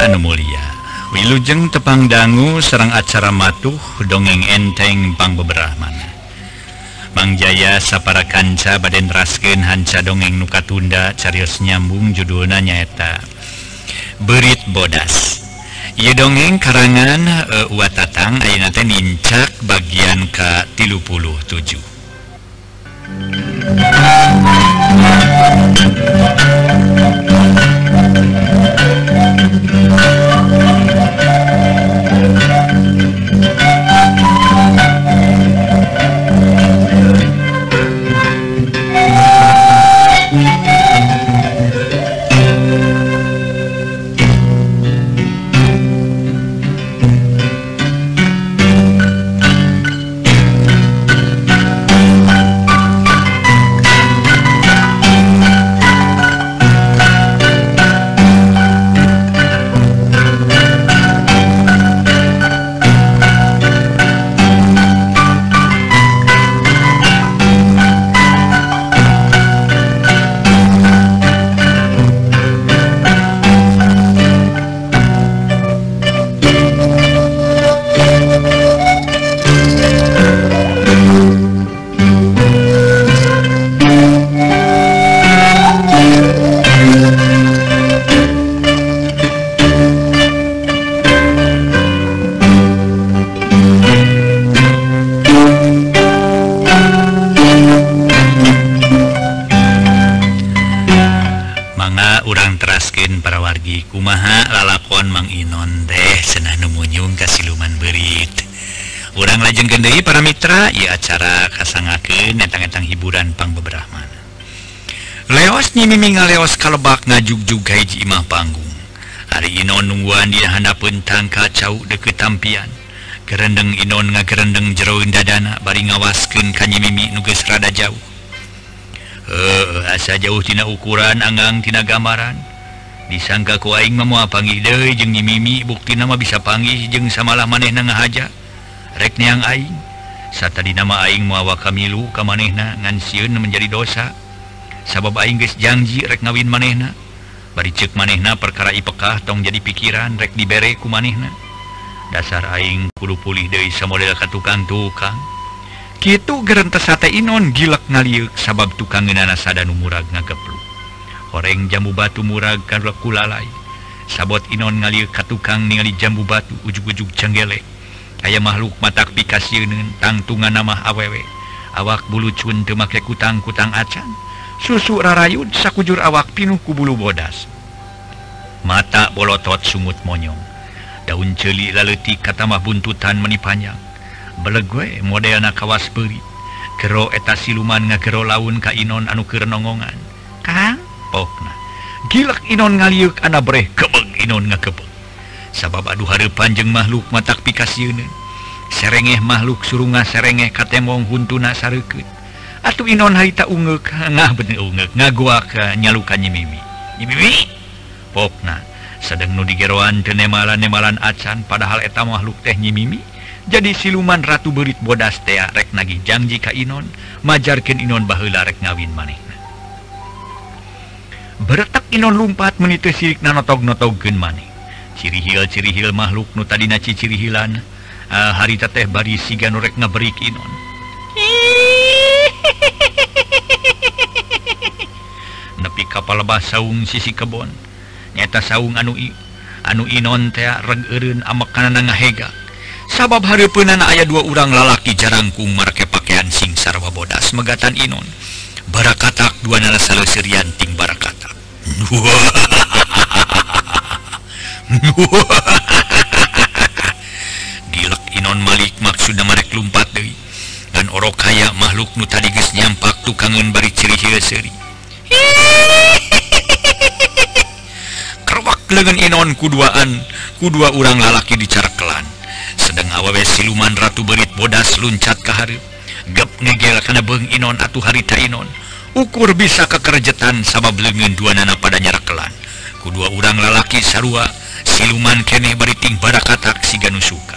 Pamirsa anu mulia, wilujeng tepang dangu serang acara matuh dongeng enteng pang beberapa Mang Jaya sapara kanca baden raskeun hanca dongeng nu katunda carios nyambung judulna nyaeta Berit Bodas. Ieu dongeng karangan Uwa Tatang ayeuna teh nincak bagian ka-37. Para wargi kumaha lalakon Mang Inon teh cenah nu munyung ka siluman berit. Urang lajengkeun deui para mitra ieu acara kasangakeun entang-entang hiburan pang beberapa. Leos nyimimi ngaleos kalebak ngajugjug ka hiji imah panggung. Ari Inon nungguan di handapeun tangka cau deukeut tampian. Gerendeng Inon ngagerendeng jero dadana bari ngawaskeun ka nyimimi nu geus rada jauh. Asa jauh tina ukuran anggang tina gambaran. Disangka ku aing mah moal panggih deui jeung nyimimi buktina mah bisa panggih jeung samalah manehna ngahaja rek neang aing satadina mah aing moal wakamilu ka manehna ngan sieun menjadi dosa sabab aing geus janji rek ngawin manehna bari ceuk manehna perkara ipekah tong jadi pikiran rek dibere ku manehna dasar aing kudu pulih deui samodel ka tukang-tukang kitu gerentes teh Inon gilek ngaliuk sabab tukangeunana sada nu murag ngagepluk horeng jambu batu murag karek kulalai sabot Inon ngalieu ka tukang ningali jambu batu ujug-ujug cenggele aya makhluk matak pikasieun tangtungan mah awewe awak bulu cun teu make kutang-kutang acan susu rarayud sakujur awak pinuh ku bulu bodas mata bolotot sungut monyong daun ceuli laleutik kata mah buntutan meni panjang beleg we modelna kawas beurit gero eta siluman ngagero laun ka Inon anu keur nongongan Kang pokna gilak Inon ngaliuk ana breh kebeg Inon ngakebeg sabab aduh hareupan jeung makhluk matak pikasieun serengeh makhluk surunga serengeh katemong huntuna sareukeut atuh Inon harita ungeuk ngah bener ungeuk ngagoak nyalukan nyimimi pokna sedeng nu digeroan teu nemalan-nemalan acan padahal eta makhluk teh nyimimi jadi siluman ratu berit bodas teh rek nagih janji ka Inon majarkeun Inon baheula rek ngawin maneh. Beretak Inon lumpat menitu sirikna notog-notogkeun maneh. Cirihil makhluk nu tadina cicirihilan harita teh bari siga nu rek ngaberik Inon. Nepi ka palebah saung sisi kebon. Nyata saung anu Inon teh reg eureun amekanana ngahega. Sabab hareupeunana aya dua urang lalaki jarangkung make pakaian sing sarwa bodas megatan Inon. Barakatak dua nana saleuseurian ting barakatak. Gilek Inon malik maksudna marek lumpat deui ngan orok kaya makhluk nu tadi geus nyampak tukangeun bari cirihil seuri. Kerwak leungeun Inon kudua urang lalaki dicarekelan sedang awewe siluman ratu berit bodas luncat ka hareup gep ngegel kana beung Inon atuh harita Inon ukur bisa kekerjetan sabab leungeun duanana pada nyarakelan kudua urang lalaki sarua siluman keneh bari ting barakatak siga nu suka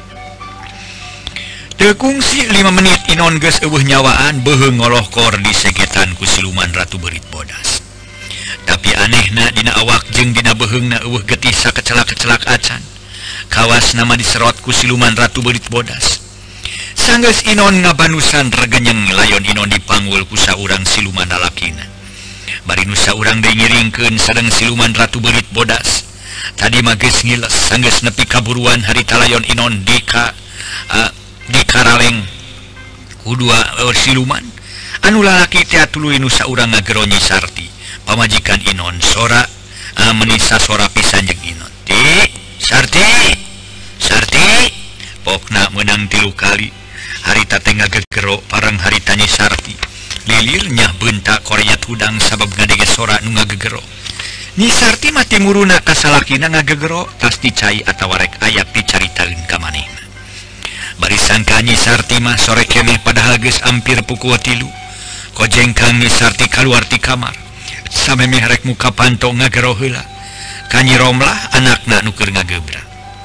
teu kungsi 5 menit Inon geus eueuh nyawaan beuheung ngolohkor di segetan ku siluman ratu berit bodas tapi manehna dina awak jeung dina beheungna eueuh getih sakecelak-kecelak acan. Kawas nama diserot ku siluman ratu beurit bodas. Sanggeus Inon ngabanusan regenyeng layon Inon dipanggul ku saurang siluman lalakina. Bari nu saurang deui ngiringkeun sareng siluman ratu beurit bodas. Tadi mah geus ngiles sanggeus nepi kaburuan harita layon Inon di karaleng ku dua siluman. Anu lalaki teh tuluy nu saurang ngagero Nyi Sarti. Pamajikan Inon sora menisa sora pisan jeung Inon. Sarti pokna menang 3 kali. Harita teh ngagegero parang harita Nyi Sarti. Lilir nyah beunta korenyat hudang sabab ngadege sora nu ngagegero. Nyi Sarti mah timuruna ka salakina ngagegero tas dicai atawa rek aya picaritaeun ka manehna. Bari sangka Nyi Sarti mah sore keneh padahal geus ampir pukul 3. Kojengkang Nyi Sarti kaluar ti kamar. Samemeh rek muka panto ngagero heula. Ka Nyi Romlah anakna nu keur ngagebra.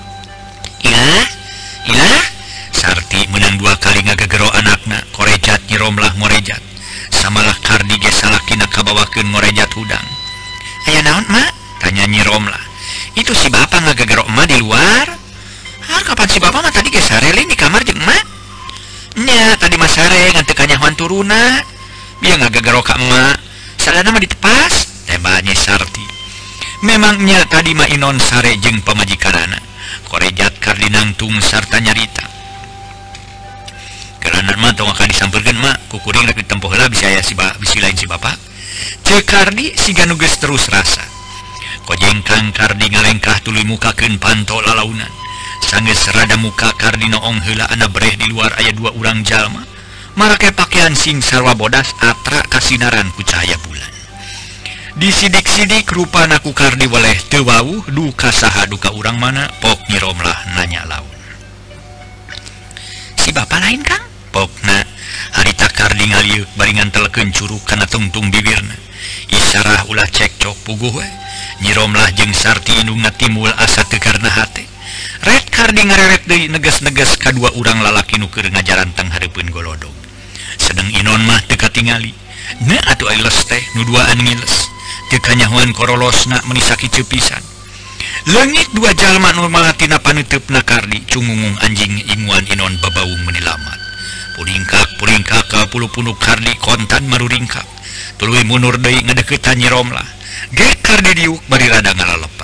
Ilah Sarti menang 2 kali ngagegero anakna. Korejat Nyi Romlah ngorejat. Samalah Kardi ge salakina kabawakeun ngorejat hudang. Aya naon mak? Tanya Nyi Romlah. Itu si bapa ngagegero emak di luar. Kapan si bapa mah tadi ge sarelin di kamar jeung emak? Nya tadi mah sare ngan teu kanyahoan turuna. Biar ngagegero ka emak. Sadana mah ditepas. Tebak Nyi Sarti. Memangnya tadi mah Inon sare jeung pamajikanana. Korejat Kardi nangtung sarta nyarita. Keranan mah tong akan disampeurkeun mak, kukuring rek ditempuh heula bisa aya bisi lain si bapa. Cek Kardi siga nu geus terus rasa. Kojengkang Kardi ngalengkah tuluy mukakeun panto lalaunan. Sanggeus rada muka Kardi noong heula ana breh di luar aya 2 urang jalma. Marake pakaian sing sarwa bodas atra kasinaran ku cahaya bulan. Disidik-sidik rupana ku Kardi waleh teu wawuh duka saha duka urang mana. Pok Nyi Romlah nanya laun. Si bapa lain Kang? Pokna harita Kardi ngaliuk baringan telekeun curug kana tungtung bibirna. Isarah ulah cekcok puguh we. Nyi Romlah jeung Sarti indungna timbul asa teu karna hate. Red Kardi ngareret deui neges-neges ka 2 urang lalaki nu keur ngajaranteng hareupeun golodog. Sedeng Inon mah teu katingali. Na atuh ailes teh nu duaan ngiles. Teu kanyahoan korolosna menisaki pisan. Leungit 2 jalma nu malatina paneuteup Kardi cungungung anjing inguan Inon babaung menilamat. Puringkak ka puluh-puluh Kardi kontan maruringkak. Tuluy mundur deui ngadeuketan Nyi Romlah. Ge Kardi diuk bari rada ngalaleper.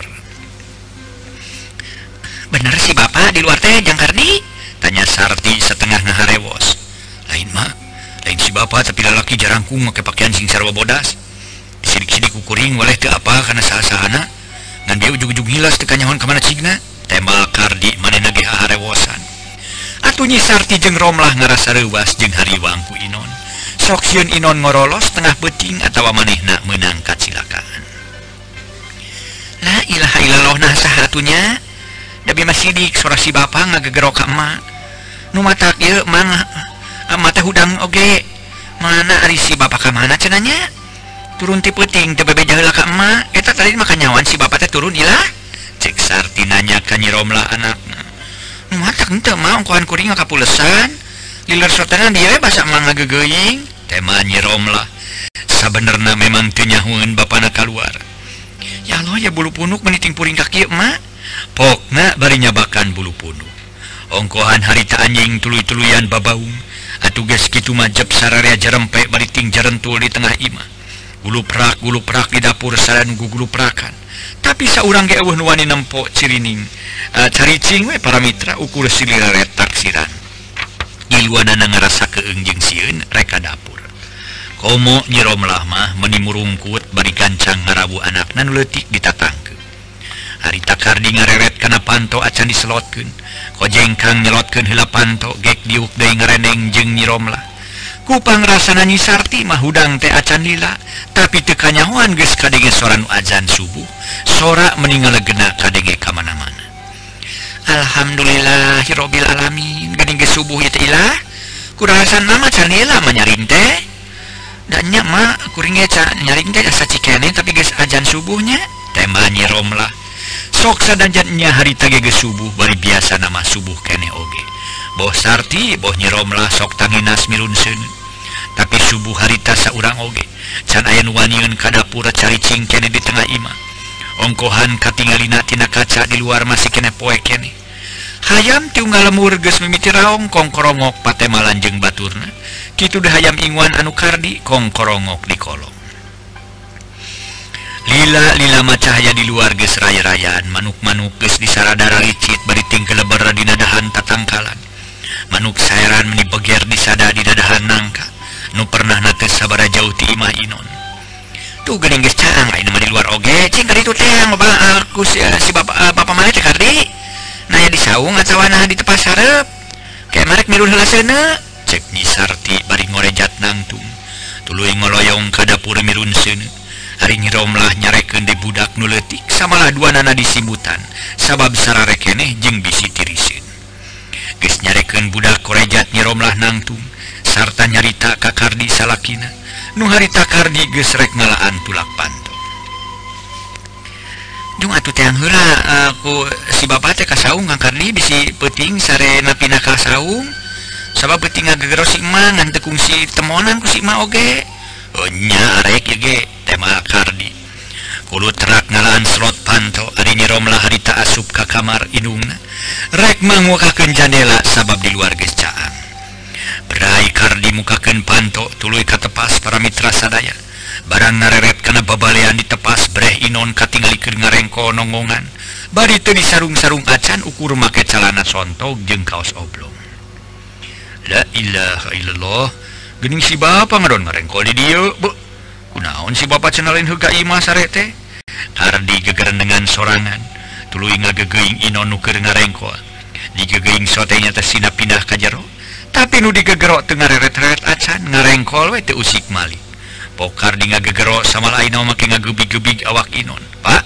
Bener si bapa di luar teh jang Kardi? Tanya Sarti setengah ngaharewos. Lain si bapa tapi lalaki jarangkung make pakaian sing sarwa bodas. Sidik-sidik kukuring waleh teu apa kana saha-sahana. Ngan dia ujug-ujug hilas teu kanyahoan ka mana cigna. Tembak Kardi manehna ge harewosan. Atuh Nyi Sarti jeung Romlah ngarasa reuwas jeung hariwang ku Inon. Sok sieun Inon ngorolos tengah beuting atawa manehna meunang kacilakaan. La ilaha illallah nah saha atunya? Dabi masidik sora si bapa ngagegero ka emak. Nu matak ieu mah mata hudang oge. Mana ari si bapa ka mana cenanya? Turun ti peuting teu bebeja heula ka emak. Eta tadi mah kanyawan si bapa teh turun ilah. Cek Sarti nanya ka Nyi Romlah anakna. Nu matak henteu mah ongkohan kuring kapulesan. Liler sotenan dieu we basa emang ngagegeuing. Tema Nyi Romlah. Sabenerna memang teu nyahoeun bapana kaluar. Ya Allah ya bulu punuk meniting puring ka kieu emak. Pokna bari nyabakan bulu punuk. Ongkohan harita anjing tuluy-tuluyan babaung. Atuh geus kitu mah jep sararea jarempe bari ting jarentul di tengah imah. Guluprak di dapur sareng guguluprakan. Tapi saurang ge eueuh nu wani nempo cirining. Caricing we para mitra ukur siliraret taksiran. Giluanana ngarasa keung jeung sieun reka dapur. Komo Nyi Romlah mah meuni murungkut bari gancang ngarabu anakna nu leutik ditatangkeun. Harita Kardi ngareret kana panto acan diselotkeun. Kojengkang nyelotkeun heula panto gek diuk deui ngareneng jeung Nyi Romlah. Ku pangrasana Nyi Sarti mah hudang teh acan lila, tapi teu kanyahoan geus kadenge sora nu azan subuh. Sora meni ngaleugena kadenge ka mana-mana. Alhamdulillahirabbil alamin. Geuning geus subuh ieu teh ilah. Kurasana mah can lila mah nyaring teh. Da nya mah kuring ge can nyaring teh asa cikene tapi geus azan subuhnya. Tema Nyi Romlah. Sok sadajan nya harita ge geus subuh bari biasa nama subuh keneh oge. Boh Sarti, boh Nyi Romlah sok tanginas milun seuneu. tapi subuh harita saurang oge can aya nu waniun ka dapur caricing keneh di tengah imah ongkohan katinggalina tina kaca di luar masih kena poek keneh hayam tiunggal lemur geus mimiti raong kongkorongok patemalan jeung baturna kitu dah hayam ingwan anu kardi kongkorongok di kolong lila macahaya di luar geus raya-rayaan manuk-manuk geus disaradara licit bari tinggal lebar di nadahan tatangkalan manuk saeran meni beger disada di dadahan nangka nu pernah nates sabara jauh ti imah inon tuh geuning geus caang ayeuna mah di luar oge cing kali itu teh aku si bapak mana teh kardi naya di saung atawana di tepas hareup kayak marek mirun heula seuneu cek Nyi Sarti bari ngorejat nangtung tuluy ngoloyong ka dapur mirun seuneu hari Nyi Romlah nyarekeun di budak nu leutik samalah duanana disimbutan sabab sarare keneh jeung bisi tiriseun geus nyarekeun budak korejat Nyi Romlah nangtung sarta nyarita ka Kardi salakina nu harita Kardi geus rek ngalaan tulak panto dung atuh teh heula aku si bapak teh ka saung Kang Kardi bisi peuting sare napina ka saung sabab peuting ngagegeros si imah ngan teu kungsi temonan ku si imah oge nya arek ye ge teh mah Kardi kudu terak ngalaan slot panto ari Nyi Romlah harita asup ka kamar indungna rek mangukakeun jandela sabab di luar geus caang berai Kardi mukakeun panto tuluy ka tepas para mitra sadaya barang nareret kana babalean di tepas breh inon katinggalikeun ngarengko nongongan bari teu disarung-sarung acan ukur make calana sontog jeung kaos oblong la ilaha illallah geuning si bapa ngadon ngarengko di dieu kunaon si bapa cenah lain heuga imah sare teh Kardi gegeran dengan sorangan tuluy ngagegeuing inon nu keur ngarengko digegeuing sotenya teh sina pindah ka jero tapi nu digegerok teu ngareret-reret acan ngarengkol we teu usik malik pokar di ngagegero sama lain make ngagebig-gebig awak inon pak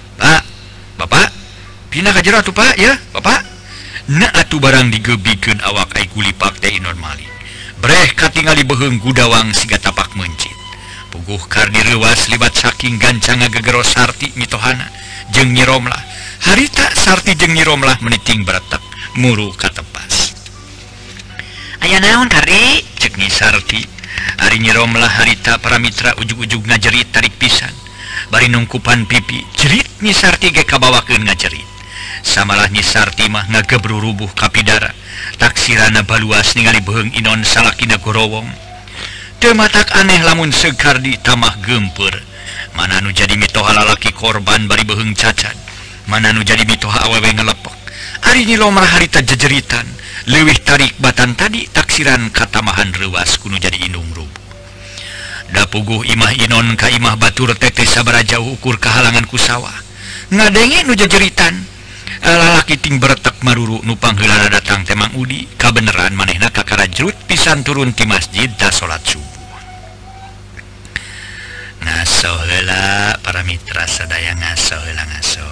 bapak pindah ka jero atuh pak ya bapak na atuh barang digebikeun awak ai kulipak teh inon malik breh katingali beheung gudawang siga tapak mencit puguh Kardi reuwas libat saking gancang ngagegero Sarti mitohana jeung Nyi Romlah harita Sarti jeung Nyi Romlah meniting baretek muru ka tepas aya naon Kardi cek Nyi Sarti ari Nyi Romlah harita para mitra ujug-ujug ngajerit tarik pisan bari nungkupan pipi jerit Nyi Sarti ge kabawakeun ngajerit samalah Nyi Sarti mah ngagebru rubuh kapidara taksirana baluas ningali beheung inon salakina gorowong teu matak aneh lamun seug Kardi tamah geumpeur mana nu jadi mitoha lalaki korban bari beheung cacat mana nu jadi mitoha awewe ngelepek ari Nyi Romlah harita jejeritan leuwih tarik batan tadi taksiran katamahan reuwas kuno jadi indung rubuh da puguh imah inon ka imah batur teteh sabara jauh ukur kahalangan ku sawah ngadenge nu jejeritan lalaki ting beretek maruru nu pangheulana datang teh Mang Udi kabeneran manehna kakarajrut pisan turun ti masjid da salat subuh ngaso heula para mitra sadaya ngaso heula ngaso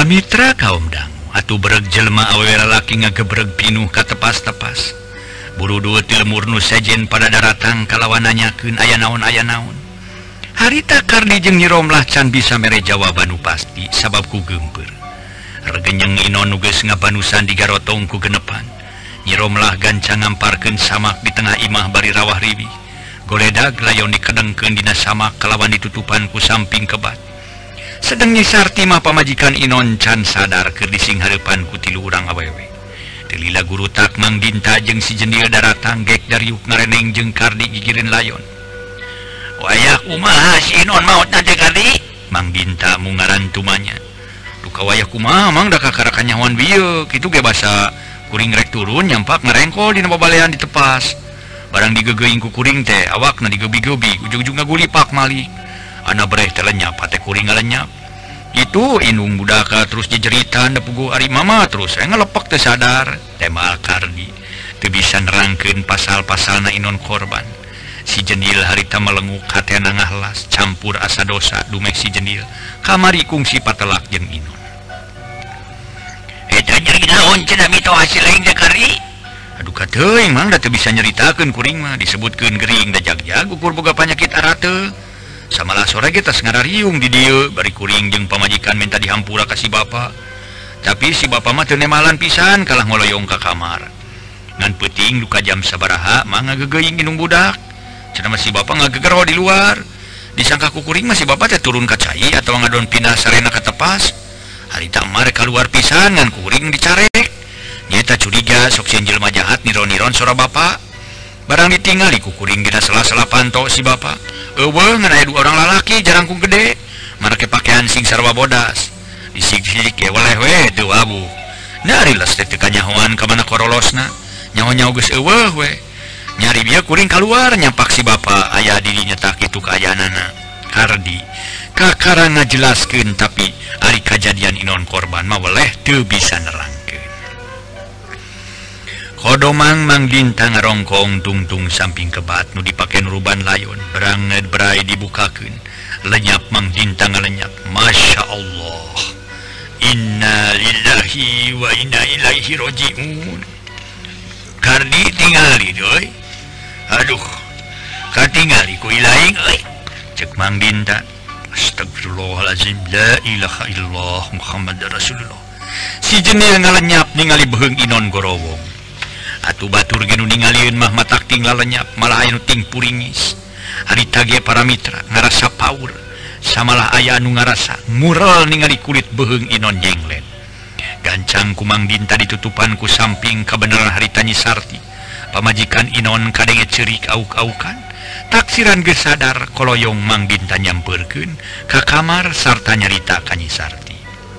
para mitra kaum dangu atuh bereg jelema awewe lalaki ngagebreg pinuh ka tepas-tepas buru dua ti lemur nu sejen pada daratang kalawan nanyakeun aya naon harita Kardi jeung Nyi Romlah can bisa mere jawaban nu pasti sabab ku geumpeur regenyeng Inon nu geus ngabanusan digarotong ku genepan Nyi Romlah gancang ngamparkeun samak di tengah imah bari rawah ribi goledag layon dikedengkeun dina samak kalawan ditutupan ku samping kebat sedeng Nyi Sarti mah pamajikan Inon can sadar keur dising hareupan ku tilu urang awewe telila guru tak Mang Dinta jeung si Jendil daratang gek dariuk ngareneng jeung Kardi gigireun layon wayah kumaha si Inon maot teh Kardi Mang Dinta mungaran tumanya duka wayah kumaha mang da kakarakan nyawan bieu kitu ge basa kuring rek turun nyampak ngarengkol dina babalean ditepas barang digegeuing ku kuring teh awakna digebi-gebi ujug-ujug ngagulipak malik ana breh teh lenyap hate kuring ngalenyap itu indung budaka terus jejeritan da puguh ari mama terus ngalepek teu sadar tema Kardi teu bisa nerangkeun pasal-pasalna Inon korban si Jendil harita melenguk hatena ngahlas campur asa dosa dumek si Jendil kamari kungsi patelak jeung Inon eta nyeri naon cenah mito hasil aing teh Kardi aduh kateuing mang da teu bisa nyaritakeun kuring mah disebutkeun gering da jag-jag ukur boga panyakit arate samalah sore ge tos ngarariung di dieu bari kuring jeung pamajikan minta dihampura ka si bapa tapi si bapa mah teu nemalan pisan kalah ngoloyong ka kamar ngan peuting duka jam sabaraha mah ngagegeuing indung budak cenah mah si bapa ngagegero di luar disangka ku kuring mah si bapa teh turun ka cai atawa ngadon pindah sarena ka tepas harita mah rek kaluar pisan ngan kuring dicarek nyata curiga sok sieun jelema jahat niron-niron sora bapa barang ditinggali ku kuring dina sela-sela panto si bapa eueuh ngan aya dua orang lalaki jarangkung gede marake pakean sing sarwa bodas disik-sik ge weleh we teu abu nari les teh kanyahoan ka mana korolosna nyaho-nyaho geus eueuh we nyari bieu kuring kaluar nyampak si bapa aya di dinya tah kitu kaayaanana Kardi kakara ngajelaskeun tapi ari kajadian Inon korban mah weleh teu bisa nerangkeun kodomang Mang Dinta ngarongkong tungtung samping kebat nu dipake nuruban layon beranget berai dibukakeun lenyap Mang Dinta ngalenyap Masya Allah inna lillahi wa inna ilaihi roji'un Kardi tingali doi aduh katingali ku ilaing euy cek Mang Dinta astagfirullahalazim la ilaha illallah Muhammad Rasulullah si Jendil ngalenyap ningali beheung Inon gorowong atuh batur ge nu ningalieun mah matak ting lalenyap malah aya nu ting puringis harita ge para mitra ngarasa paur samalah aya anu ngarasa mural ningali kulit beheung Inon jenglet gancang ku Mang Dinta ditutupan ku samping kabeneran harita Nyi Sarti pamajikan Inon kadenge ceurik auk-aukan taksiran geus sadar koloyong Mang Dinta nyampeurkeun ka kamar sarta nyarita ka Nyi Sarti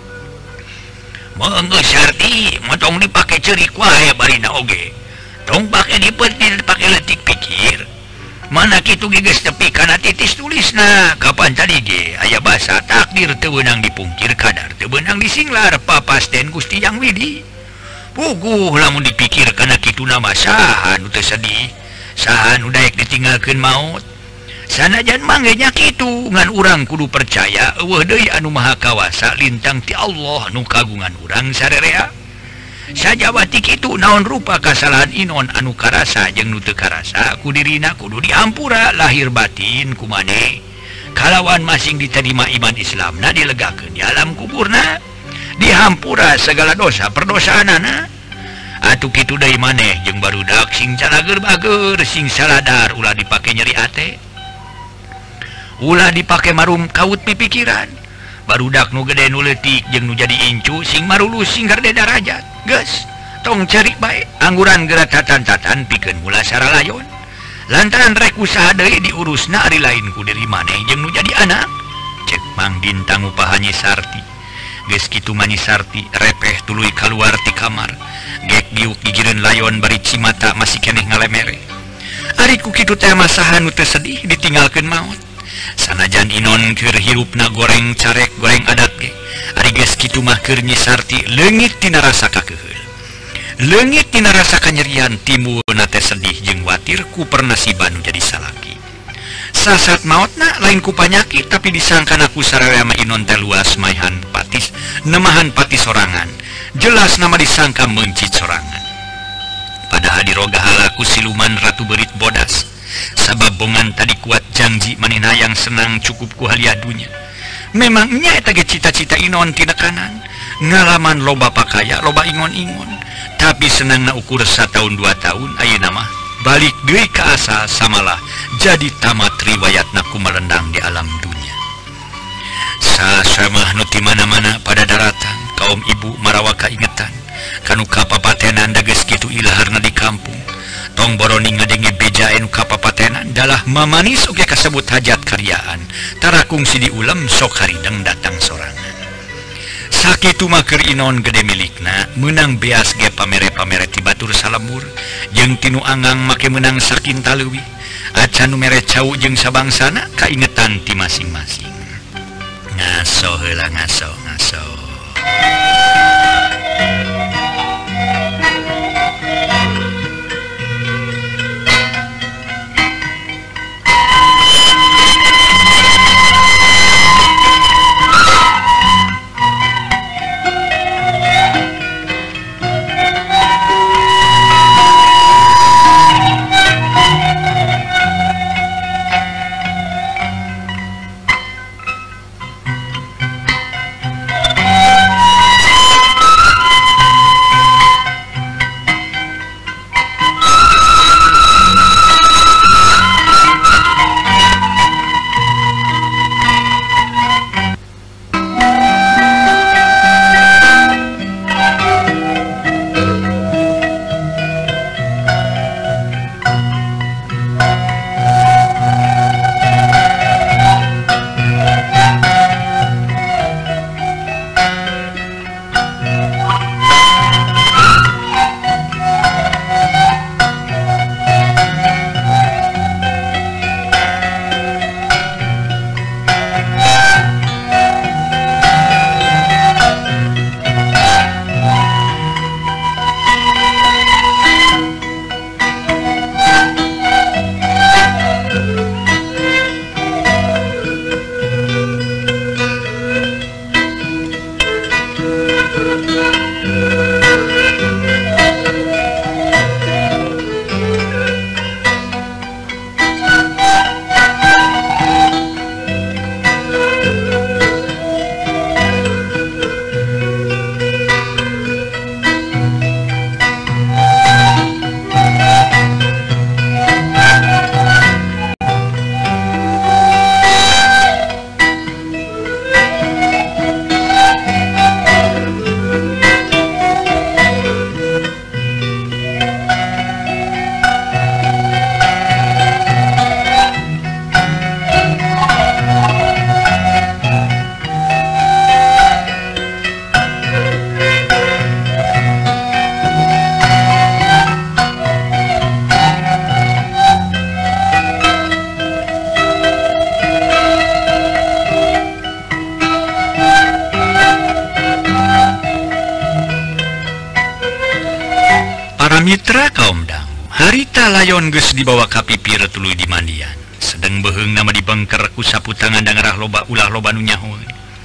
mangga Sarti motong dipake ceurik wae barina oge tong pake dipeuting dipake leutik pikir mana kitu ge geus tepi kana titis tulisna kapan tadi ge aya basa takdir teu beunang dipungkir kadar teu beunang disinglar papasten Gusti Yang Widi puguh lamun dipikir kana kituna mah saha nu teu sedih saha nu daek ditinggalkeun maut sanajan mangge nya kitu ngan urang kudu percaya eueuh deui anu maha kawasa lintang ti Allah nu kagungan urang sarerea sajabati kitu naon rupa kasalahan Inon anu karasa jeung nu teu karasa ku dirina kudu diampura lahir batin ku maneh kalawan masing diterima iman Islamna dilegakeun di alam kuburna dihampura segala dosa perdosaanana atuh kitu deui maneh jeung barudak sing calager-bager sing saladar ulah dipake nyeri ate ulah dipake marum kaut pipikiran barudak nu gede nu leutik jeung nu jadi incu sing marulus sing gerde darajat geus tong cari bae angguran geura tatan-tatan pikeun mula saralayon lantaran rek usaha deui diurusna ari lain ku diri maneh jeung nu jadi anak cek Mang Dinta ngupahan Nyi Sarti geus kitu mah Nyi Sarti repeh tuluy kaluar ti kamar gek diuk gigireun layon bari cimata masih keneh ngalemere ari ku kitu teh mah saha nu teu sedih ditinggalkeun maot sanajan Inon keur hirupna goreng carek goreng adat ge ari geus kitu mah keur Nyi Sarti leungit tina rasa kakeheul leungit tina rasa kanyerian timbulna teh sedih jeung watir ku pernasiban nu jadi salaki sasat maotna lain ku panyakit tapi disangkana ku sararea mah Inon teh luas maehan patis nemahan pati sorangan jelas nama disangka mencit sorangan padahal diroga halaku siluman Ratu Berit bodas sabab bongan tadi kuat janji manehna yang senang cukup ku haliadunya memangnya eta ge cita-cita Inon tina kanan ngalaman loba pakaya loba ingon-ingon tapi senangna ukur satahun 2 tahun ayeuna mah balik deui ka asal samalah jadi tamat riwayatna kumelendang di alam dunia sasamah nu ti mana-mana pada daratan kaum ibu marawa kaingetan kanu kapapatenan da geus kitu ilaharna di kampung tong boroni ngadenge beja anu kapapatenan dalah mamanis oge kasebut hajat karyaan tara kungsi diulam sok harideng datang sorangan sakitu maker Inon gede milikna menang beas ge pamere-pamere ti batur salemur jeung tinu angang make menang sakinta leuwih acan nu mere cau jeung sabangsana kaingetan ti masing-masing ngaso heula ngaso Mitra kaum dangu harita layon geus dibawa ka pipir tuluy di mandian sedang beheung nama dibengker ku saputangan dangarah loba ulah loba nu nyahoy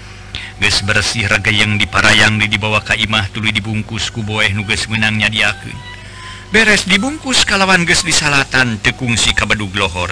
geus bersih ragayeng diparayang dibawa ka imah tuluy dibungkus ku boeh nu geus meunang nyadiakeun beres dibungkus kalawan geus disalatan teu kungsi ka bedug lohor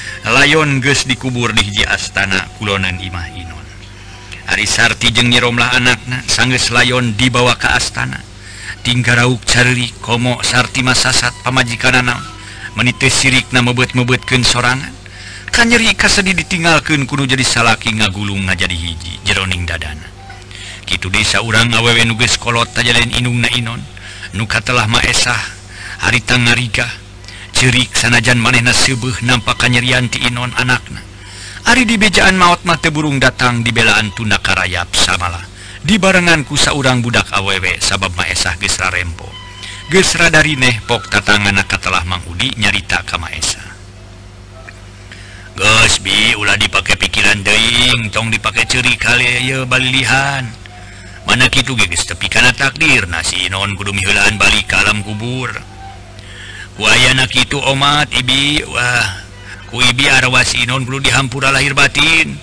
layon geus dikubur di hiji astana kulonan imah Inon Ari Sarti jeung Nyi Romlah anakna sanggeus layon dibawa ka astana tinggarauk careurik komo Sarti masasat pamajikanana meniteu sirikna mebet-mebetkeun sorangan kanyeri kasedi ditinggalkeun kudu jadi salaki ngagulung ngajadi hiji jeroning dadana kitu desa urang awewe nu geus kolot tajalain inungna Inon nu katelah maesah harita ngariga ceurik sanajan manehna seubeuh nampak kanyerian ti Inon anakna ari di bejaan maot mah teu burung datang dibelaan tunda karayap samalah dibarengan ku saurang budak awewe sabab maesah geus rarempo geus radarineh pok tatangana katelah Mang Udi nyarita ka maesah geus bi ulah dipake pikiran deing tong dipake ceurik kali ye balilihan mana kitu ge geus tepi kana takdirna si Inon kudu miheulaan balik ka alam kubur ku ayana kitu omat ibi wah ku ibi arwah si Inon kudu dihampura lahir batin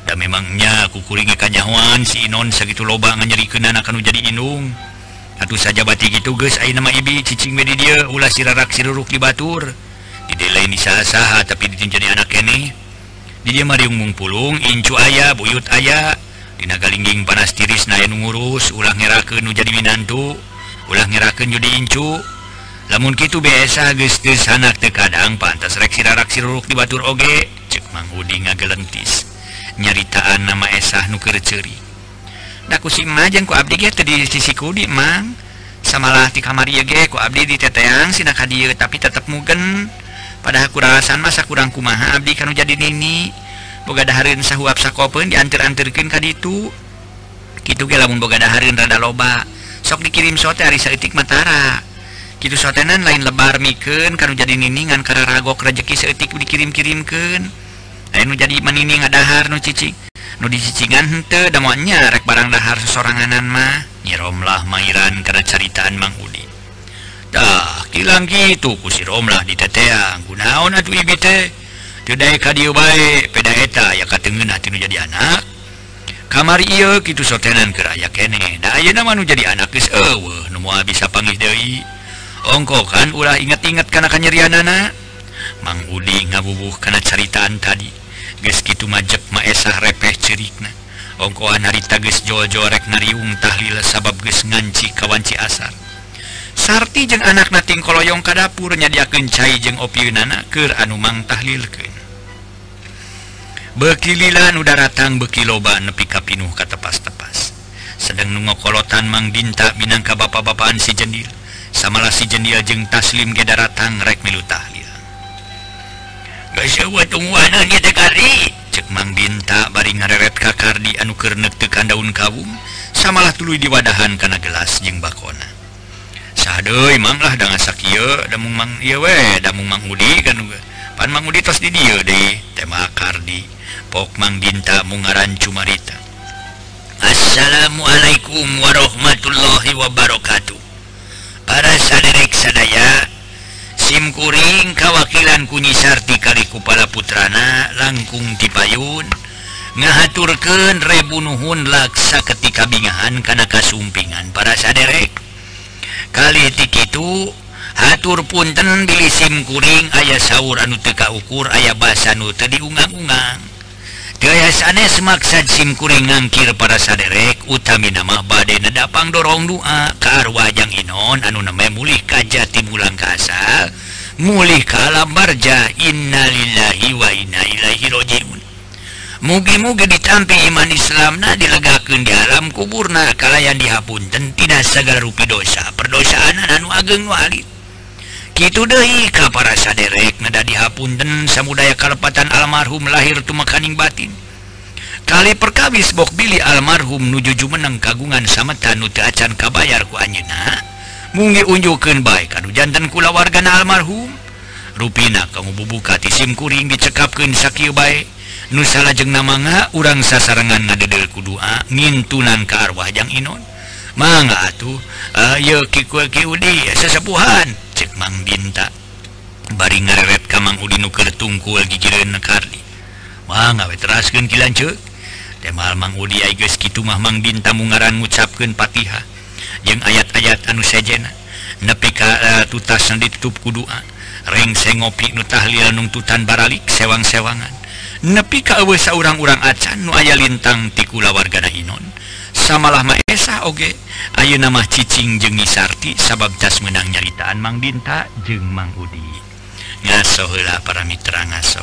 memangnya kukuring kanyawan si Inon sakitu loba nganyerikeun anak anu jadi indung. Atuh saja bati gitu geus aya nama ibi cicing we di dieu ulah sirarak siruruk di batur. Di dieu lain disaha-saha tapi ditun jadi anak keneh. Di dieu mah riung mungpulung incu aya buyut aya. Dina galingging panas tiris na aya nu ngurus ulah ngerakeun nu jadi minantu, ulah ngerakeun jadi incu. Lamun kitu biasa geus teu sanak teu kadang pantas rek sirarak siruruk di batur oge, ceuk Mang Udi ngagelentis. Nyaritaan nama esah nu keur ceuri. Da ku si Emah jeung ku abdi ge teu di sisi Kudi Mang. Samalah ti kamari ge ku abdi di teteang sina ka dieu tapi tetep mugen. Padahal kurasan masa kurang kumaha abdi kanu jadi nini. Boga dahareun sahuap sakopeun dianter-anterkeun ka ditu. Kitu ge lamun boga dahareun rada loba, sok dikirim sote ari saeutik matara. Kitu sotenan lain lebar mikeun kanu jadi nini ngan kararagok rejeki saeutik dikirim-kirimkeun. Aya nu jadi manini ngadahar nu cicing. Nu dicicingan henteu da moal nyarek barang dahar sesoranganan mah. Nyiromlah mairan kana caritaan Mang Udi. Dah, kilang gitu ku si Romlah di teteang. Kunaon atuh ibi teh? Teu dae ka dieu bae, peda eta aya kateungeun hati nu jadi anak. Kamari ieu kitu sotenan keur aya keneh. Da ayeuna mah nu jadi anak geus eueuh, nu moal bisa panggih deui. Ongko kan ulah inget-inget kana kanyerianana. Mang Udi ngabubuh kana caritaan tadi. Geus kitu majek maesah repeh ceurikna. Ongkoan harita geus jol-jol rek nariung tahlil sabab geus nganci kawanci asar. Sarti jeung anakna ting koloyong ka dapur nyadiakeun cai jeung opieunana keur anu mang tahlilkeun. Beuki lila nu daratang beuki loba nepi ka pinuh ka tepas-tepas. Sedeng nu ngokolotan Mang Dinta minangka bapa-bapaan si Jendil. Samalah si Jendil jeung Taslim ge daratang rek milu tahlil. Geus eueuh tungguana ieu teh kari, ceuk Mang Dinta bari ngareret ka Kardi anu keur neuktekan daun kawung, samalah tuluy diwadahan kana gelas jeung bakona. Saha deui Mang lah da ngasakieu, da mung Mang ieu we, da mung Mang Udi kan pan Mang Udi tos di dieu deui, teh mah Kardi. Pok Mang Dinta mung ngarancu marita. Assalamualaikum warahmatullahi wabarakatuh. Para saderek sadaya, Sim kuring kawakilan Kunyi Sarti kali kupala putrana langkung tipayun ngahaturkeun rebu nuhun laksa ketika bingahan kana kasumpingan para saderek. Kali ti kitu hatur punten bilih sim kuring aya saur anu teu kaukur aya basa nu teu diungang-ungang. Teu aya sanes maksad sim kuring ngangkir para saderek utami nama bade nedapang dorong doa ka arwah Jang Inon anu name mulih ka jati mulang kasal, mulih ka alam barja. Innalillahi wa inna ilaihi rajiun. Mugi-mugi ditampi iman Islamna dilegakeun di alam kuburna kalayan dihapunten tina sagala rupi dosa perdosaanan anu ageng nu alit. Kitu deui ka para saderek nada dihapunten samudaya kalepatan almarhum lahir tumekaning batin. Kali perkawis bok bilih almarhum nuju jumeneng kagungan sameta nu teu acan kabayar ku anjeunna. Munggi unjukeun bae kanu janten kulawargana almarhum. Rupina kamu bubuka ti sim kuring dicekapkeun sakieu bae. Nu salajengna mangga urang sasarengan ngadedel ku doa ngintunan ka arwah Jang Inon. Mangga atuh, ayo Ki Udi sesepuhan, cek Mang Dinta. Bari ngareret ka Mang Udi nu keur tungkul gigireun Kardi. Mangga we teraskeun ki lanceuk. Temal Mang Udi aya geus kitu mah Mang Dinta mungaran ngucapkeun Fatihah jeung ayat-ayat anu sejena nepi ka tutasna ditutup ku doa. Rengseng ngopi nu tahlil nungtutan baralik sewang-sewangan. Nepi ka eueuh saurang-urang acan nu aya lintang ti kulawargana Inon. Samalah maesah oge ayeuna mah cicing jeung Nisarti sabab tas meunang nyaritaan Mang Dinta jeung Mang Udi. Ngaso heula para mitra ngaso.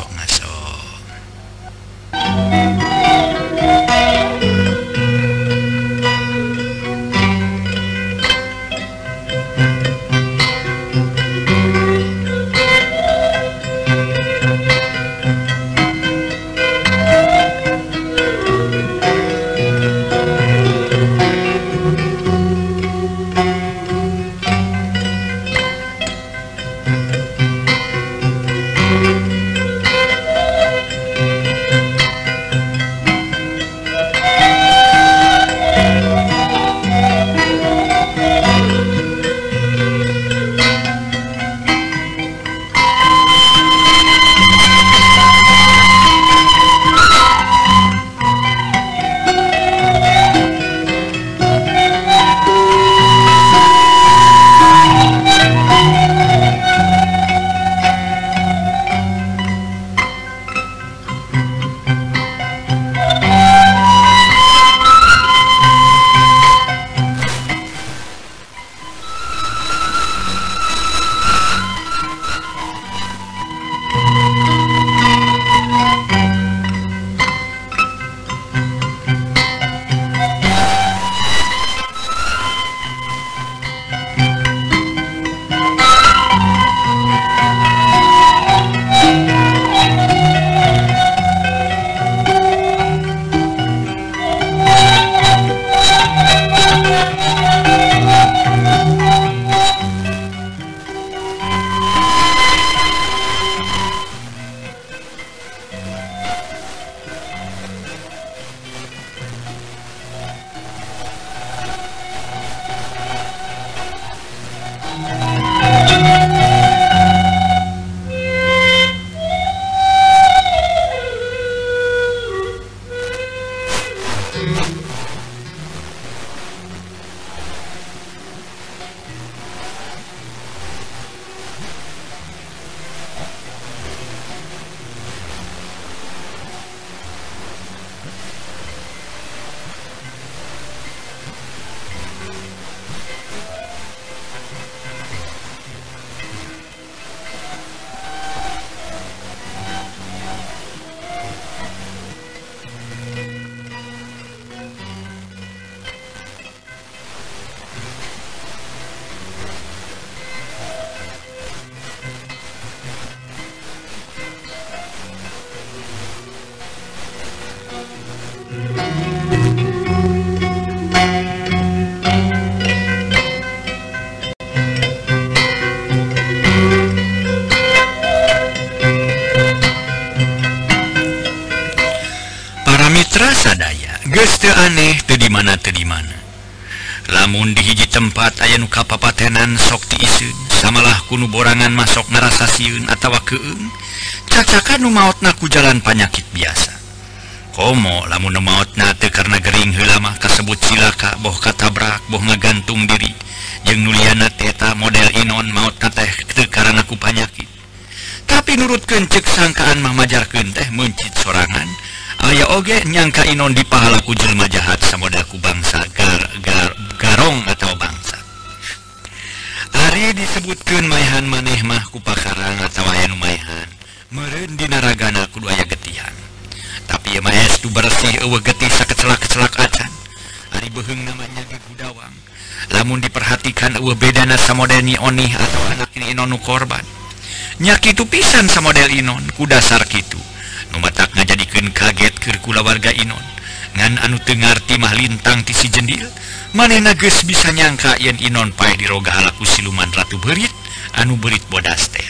Para mitra sadaya geus teu aneh teu di mana lamun di hiji tempat aya nu kapapatenan sok tiiseun samalah kuno borangan masok ngarasa sieun atawa keung cacakan nu maotna ku jalan panyakit biasa komo lamun nu maotna teu karena gering heula mah kasebut cilaka boh katabrak boh ngagantung diri jeung nu liana eta model inon maotna teh teu karana ku panyakit tapi nurutkeun ceuk sangkaan mah majarkeun teh mencit sorangan aya oge nyangka inon dipahala ku jelema jahat samodel ku bangsa garong atau bangsa ari disebutkeun maehan maneh mah ku pakarang atawa aya nu maehan meureun dina ragana kudu aya getihan tapi ieu mah estu bersih eueuh getih sakecelak-kecelak acan ari beuheung namanya ge gudawang lamun diperhatikan eueuh bedana samodel ni onih atau anak ini inon nu korban nya kitu pisan samodel inon ku dasar kitu nu matak ngajadikeun kaget keur kulawarga inon ngan anu teu ngarti mah lintang ti si jendil manehna geus bisa nyangka yen inon paeh diroga halaku siluman ratu beurit anu beurit bodas teh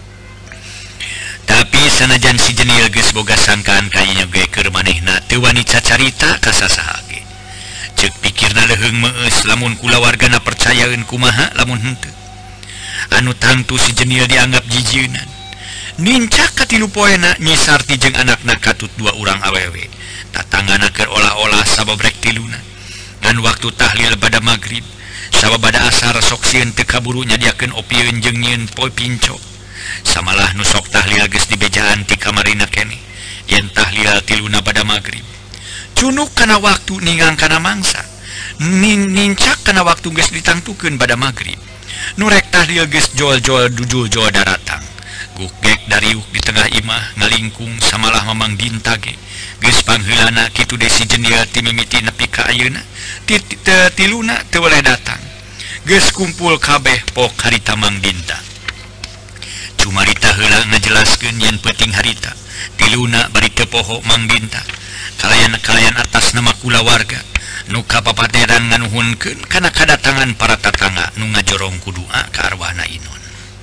tapi sanajan si jendil geus boga sangkaan kayanya ge keur manehna teu wani cacarita ka sasaha ge ceuk pikirna leuheung meueus lamun kulawargana percayaeun kumaha lamun henteu anu tangtu si jendil dianggap jijieunnan nincak katilu poena Nyi Sarti jeung anakna katut dua urang awewe tatangana keur olah-olah sababrek tiluna ngan waktu tahlil pada magrib sababada asar sok sieun teu kaburu nyadiakeun opieun jeung nyieun poe pinco samalah nu sok tahlil geus dibejaan ti kamarina keneh yen tahlil tiluna pada magrib cunuk kana waktu ningang kana mangsa nincak kana waktu geus ditangtukeun pada magrib nu rek tahlil geus jol-jol dujul jol daratang gugek dariuk di tengah imah ngalingkung samalah mamang dinta ge geus pangheulana kitu desi jendil ti mimiti nepi ka ayeuna tiluna teu weleh datang geus kumpul kabeh pok harita Mang Dinta cumarita heula ngajelaskeun yen peuting harita tiluna bari teu poho Mang Dinta kalayan atas nama kulawarga nu kapapateran nganuhunkeun kana kadatangan para tatangga nu ngajorong ku doa ka arwahna inon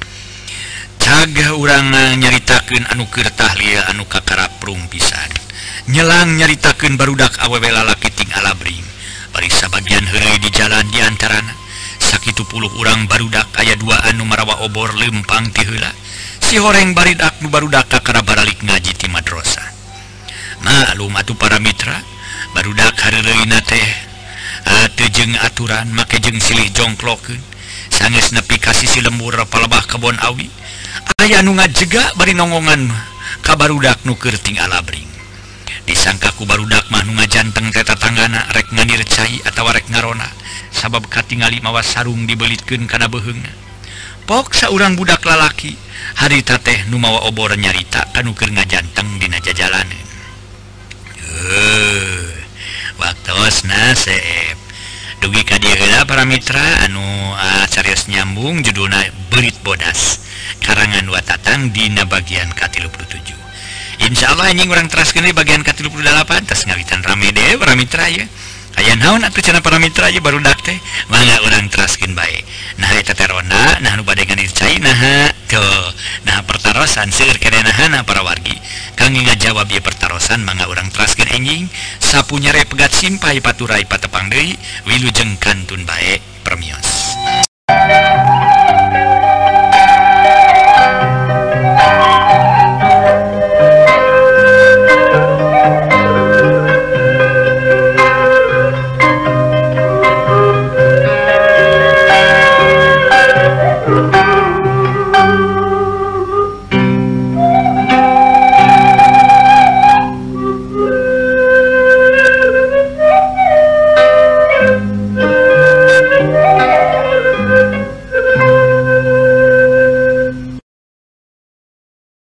cagah urang nyaritakeun anu keur tahlil anu kakaraprung pisan nyelang nyaritakeun barudak awewe lalaki ting alabring bari sabagian heureuy di jalan di antarana sakitu puluh urang barudak aya dua anu marawa obor lempang ti heula si horeng baridak nu barudak kakara baralik ngaji ti madrasah maklum atuh para mitra barudak hareureuyna teh teu jeung aturan make jeung silih jongklokeun sangeus nepi ka sisi lembur palebah kebon awi aya nu ngajega bari nongongan ka barudak nu keur ting alabring disangka ku barudak mah nu ngajanteng teh tatanggana rek nganir cai atawa rek ngarona sabab katingali mawa sarung dibelitkeun kana beuheungna pok saurang budak lalaki harita teh nu mawa obor nyarita anu keur ngajanteng dina jajalaneun waktosna seep dugi ka dieu heula para mitra anu carios nyambung judulna Beurit Bodas karangan Watatang dina bagian ka-37 insyaallah anjing urang teraskeun di bagian ka-38 tos ngawitan rame deh para mitra ya aya naon atuh cenah para mitra ya barudak teh mangga urang teraskeun bae nah eta teh ronda nah nu bade nganir cai nah tuh nah pertarosan seueur kerenahana para wargi kangge ngajawab ieu pertarosan mangga urang teraskeun enjing sapunyere pegat simpai paturai patepang deui wilujeng kantun bae permios